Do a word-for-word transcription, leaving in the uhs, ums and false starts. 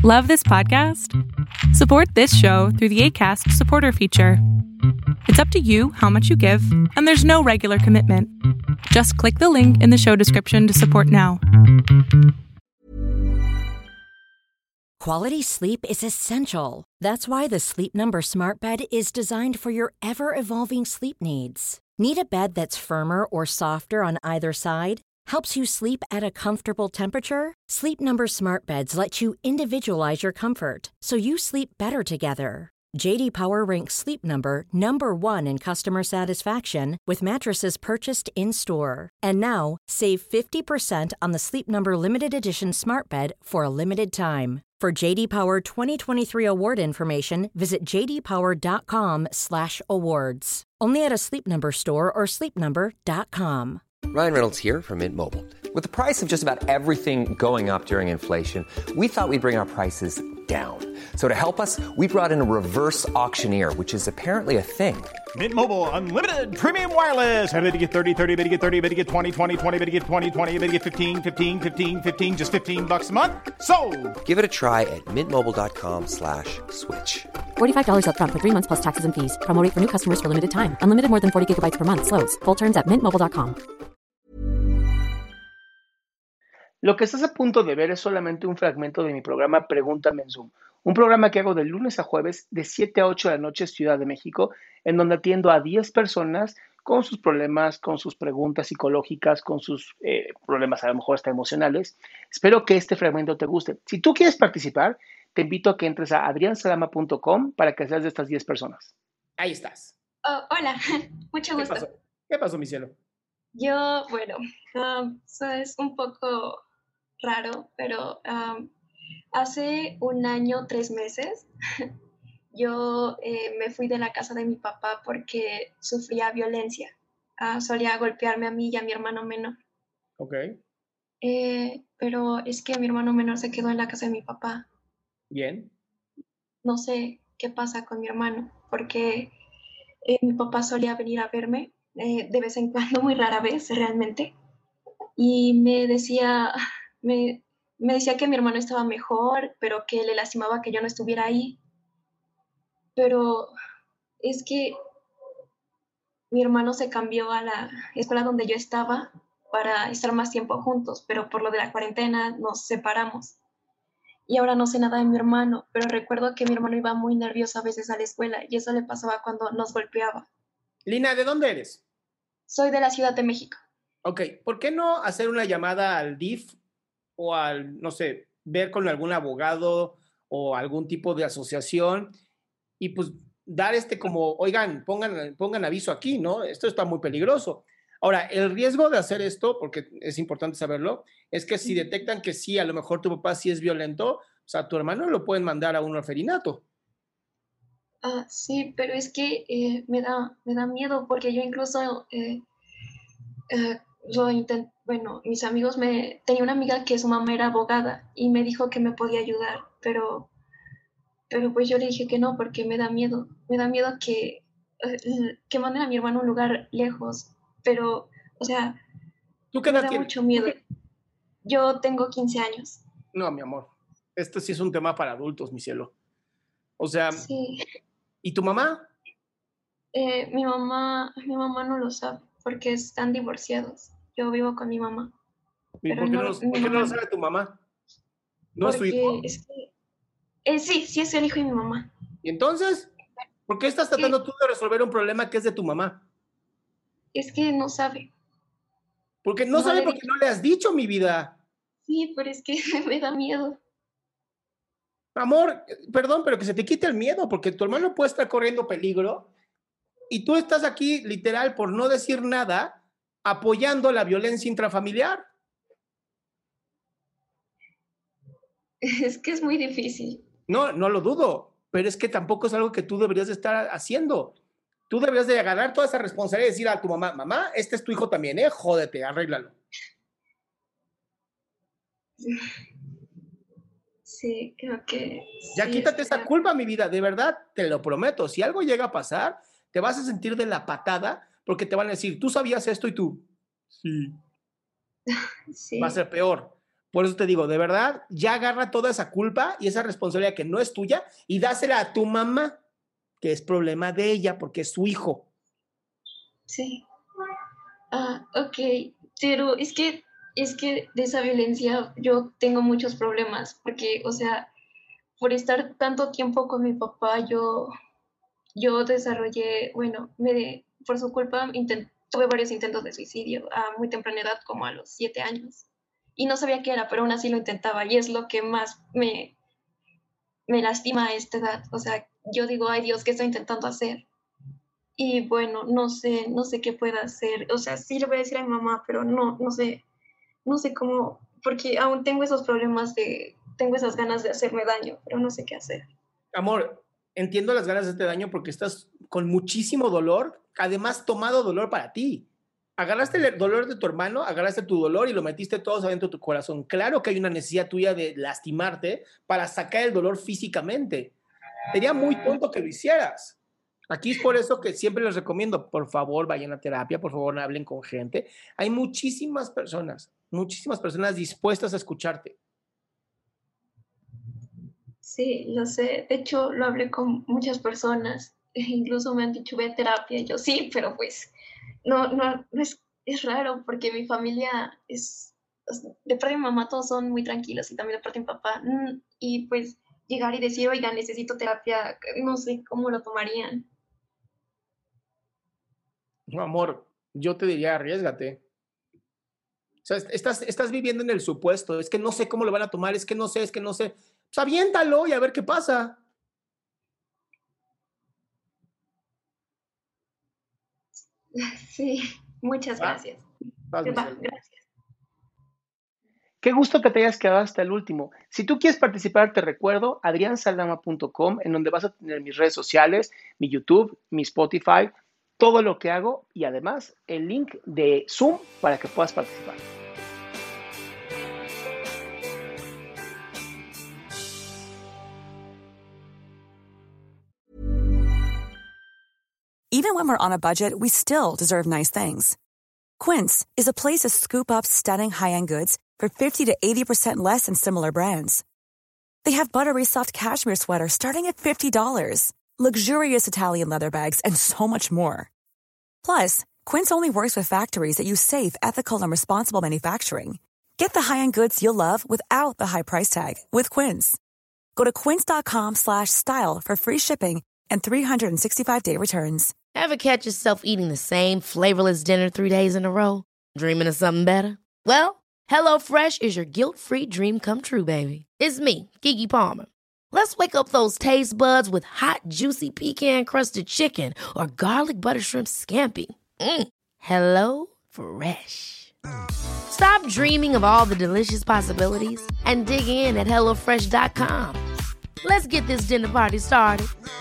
Love this podcast? Support this show through the Acast supporter feature. It's up to you how much you give, and there's no regular commitment. Just click the link in the show description to support now. Quality sleep is essential. That's why the Sleep Number Smart Bed is designed for your ever-evolving sleep needs. Need a bed that's firmer or softer on either side? Helps you sleep at a comfortable temperature? Sleep Number Smart Beds let you individualize your comfort, so you sleep better together. J D Power ranks Sleep Number number one in customer satisfaction with mattresses purchased in-store. And now, save fifty percent on the Sleep Number Limited Edition Smart Bed for a limited time. For J D Power twenty twenty-three award information, visit j d power dot com slash awards. Only at a Sleep Number store or sleep number dot com. Ryan Reynolds here from Mint Mobile. With the price of just about everything going up during inflation, we thought we'd bring our prices down. So to help us, we brought in a reverse auctioneer, which is apparently a thing. Mint Mobile Unlimited Premium Wireless. How to get thirty, thirty, how to get thirty, how to get twenty, twenty, twenty, how to get twenty, twenty, how to get fifteen, fifteen, fifteen, fifteen, just fifteen bucks a month? Sold! Give it a try at mintmobile.com slash switch. forty-five dollars up front for three months plus taxes and fees. Promo rate for new customers for limited time. Unlimited more than forty gigabytes per month. Slows full terms at mint mobile dot com. Lo que estás a punto de ver es solamente un fragmento de mi programa Pregúntame en Zoom, un programa que hago de lunes a jueves de siete a ocho de la noche Ciudad de México, en donde atiendo a diez personas con sus problemas, con sus preguntas psicológicas, con sus eh, problemas a lo mejor hasta emocionales. Espero que este fragmento te guste. Si tú quieres participar, te invito a que entres a adrián salama punto com para que seas de estas diez personas. Ahí estás. Oh, hola, mucho gusto. ¿Qué pasó? ¿Qué pasó, mi cielo? Yo, bueno, um, eso es un poco raro, pero um, hace un año, tres meses, yo eh, me fui de la casa de mi papá porque sufría violencia. Uh, solía golpearme a mí y a mi hermano menor. Ok. Eh, pero es que mi hermano menor se quedó en la casa de mi papá. Bien. No sé qué pasa con mi hermano, porque eh, mi papá solía venir a verme eh, de vez en cuando, muy rara vez realmente, y me decía... Me, me decía que mi hermano estaba mejor, pero que le lastimaba que yo no estuviera ahí. Pero es que mi hermano se cambió a la escuela donde yo estaba para estar más tiempo juntos, pero por lo de la cuarentena nos separamos. Y ahora no sé nada de mi hermano, pero recuerdo que mi hermano iba muy nervioso a veces a la escuela y eso le pasaba cuando nos golpeaba. Lina, ¿de dónde eres? Soy de la Ciudad de México. Ok, ¿por qué no hacer una llamada al D I F o al, no sé, ver con algún abogado o algún tipo de asociación y pues dar este como, oigan, pongan, pongan aviso aquí, ¿no? Esto está muy peligroso. Ahora, el riesgo de hacer esto, porque es importante saberlo, es que si detectan que sí, a lo mejor tu papá sí es violento, o sea, tu hermano lo pueden mandar a un orferinato. Ah, sí, pero es que eh, me da, me da miedo porque yo incluso... Eh, eh, yo intent, bueno, mis amigos me... Tenía una amiga que su mamá era abogada y me dijo que me podía ayudar, pero, pero pues yo le dije que no porque me da miedo. Me da miedo que, que manden a mi hermano a un lugar lejos, pero, o sea, ¿Tú qué me edad da tienes? mucho miedo. Yo tengo quince años. No, mi amor, esto sí es un tema para adultos, mi cielo. O sea, sí. ¿Y tu mamá? Eh, mi mamá, mi mamá no lo sabe porque están divorciados. Yo vivo con mi mamá. ¿Y por qué no, no, ¿por qué no lo sabe tu mamá? ¿No es su hijo? Es que, eh, sí, sí es el hijo de mi mamá. ¿Y entonces? ¿Por qué estás tratando sí. tú de resolver un problema que es de tu mamá? Es que no sabe. Porque no, no sabe porque no le has dicho, mi vida. Sí, pero es que me da miedo. Amor, perdón, pero que se te quite el miedo, porque tu hermano puede estar corriendo peligro y tú estás aquí, literal, por no decir nada, apoyando la violencia intrafamiliar. Es que es muy difícil. No, no lo dudo, pero es que tampoco es algo que tú deberías de estar haciendo. Tú deberías de agarrar toda esa responsabilidad y decir a tu mamá, mamá, este es tu hijo también, ¿eh? Jódete, arréglalo. Sí, creo que... Ya sí, quítate esa creo... culpa, mi vida, de verdad, te lo prometo. Si algo llega a pasar, te vas a sentir de la patada porque te van a decir, tú sabías esto y tú. Sí. Sí. Va a ser peor. Por eso te digo, de verdad, ya agarra toda esa culpa y esa responsabilidad que no es tuya y dásela a tu mamá, que es problema de ella porque es su hijo. Sí. Ah, ok. Pero es que, es que de esa violencia yo tengo muchos problemas porque, o sea, por estar tanto tiempo con mi papá, yo, yo desarrollé, bueno, me, por su culpa intent, tuve varios intentos de suicidio a muy temprana edad, como a los siete años. Y no sabía qué era, pero aún así lo intentaba. Y es lo que más me, me lastima a esta edad. O sea, yo digo, ay Dios, ¿qué estoy intentando hacer? Y bueno, no sé, no sé qué pueda hacer. O sea, sí le voy a decir a mi mamá, pero no, no sé, no sé cómo, porque aún tengo esos problemas de, tengo esas ganas de hacerme daño, pero no sé qué hacer. Amor, entiendo las ganas de este daño porque estás con muchísimo dolor, además tomado dolor para ti. Agarraste el dolor de tu hermano, agarraste tu dolor y lo metiste todo adentro de tu corazón. Claro que hay una necesidad tuya de lastimarte para sacar el dolor físicamente. Sería muy tonto que lo hicieras. Aquí es por eso que siempre les recomiendo, por favor, vayan a terapia, por favor, hablen con gente. Hay muchísimas personas, muchísimas personas dispuestas a escucharte. Sí, lo sé. De hecho, lo hablé con muchas personas. Incluso me han dicho, ve a terapia. Y yo, sí, pero pues, no, no, no es, es raro porque mi familia es, de parte de mi mamá todos son muy tranquilos y también de parte de mi papá. Y pues, llegar y decir, oiga, necesito terapia, no sé cómo lo tomarían. No, amor, yo te diría, arriésgate. O sea, estás, estás viviendo en el supuesto, es que no sé cómo lo van a tomar, es que no sé, es que no sé. Pues aviéntalo y a ver qué pasa. Sí, muchas gracias. Ah, Va, gracias. Qué gusto que te hayas quedado hasta el último. Si tú quieres participar, te recuerdo adrián saldama punto com, en donde vas a tener mis redes sociales, mi YouTube, mi Spotify, todo lo que hago y además el link de Zoom para que puedas participar. Even when we're on a budget, we still deserve nice things. Quince is a place to scoop up stunning high-end goods for fifty to eighty percent less than similar brands. They have buttery soft cashmere sweaters starting at fifty dollars, luxurious Italian leather bags, and so much more. Plus, Quince only works with factories that use safe, ethical, and responsible manufacturing. Get the high-end goods you'll love without the high price tag with Quince. Go to quince.com slash style for free shipping and three sixty-five day returns. Ever catch yourself eating the same flavorless dinner three days in a row? Dreaming of something better? Well, HelloFresh is your guilt-free dream come true, baby. It's me, Keke Palmer. Let's wake up those taste buds with hot, juicy pecan-crusted chicken or garlic butter shrimp scampi. Mm. Hello Fresh. Stop dreaming of all the delicious possibilities and dig in at hello fresh dot com. Let's get this dinner party started.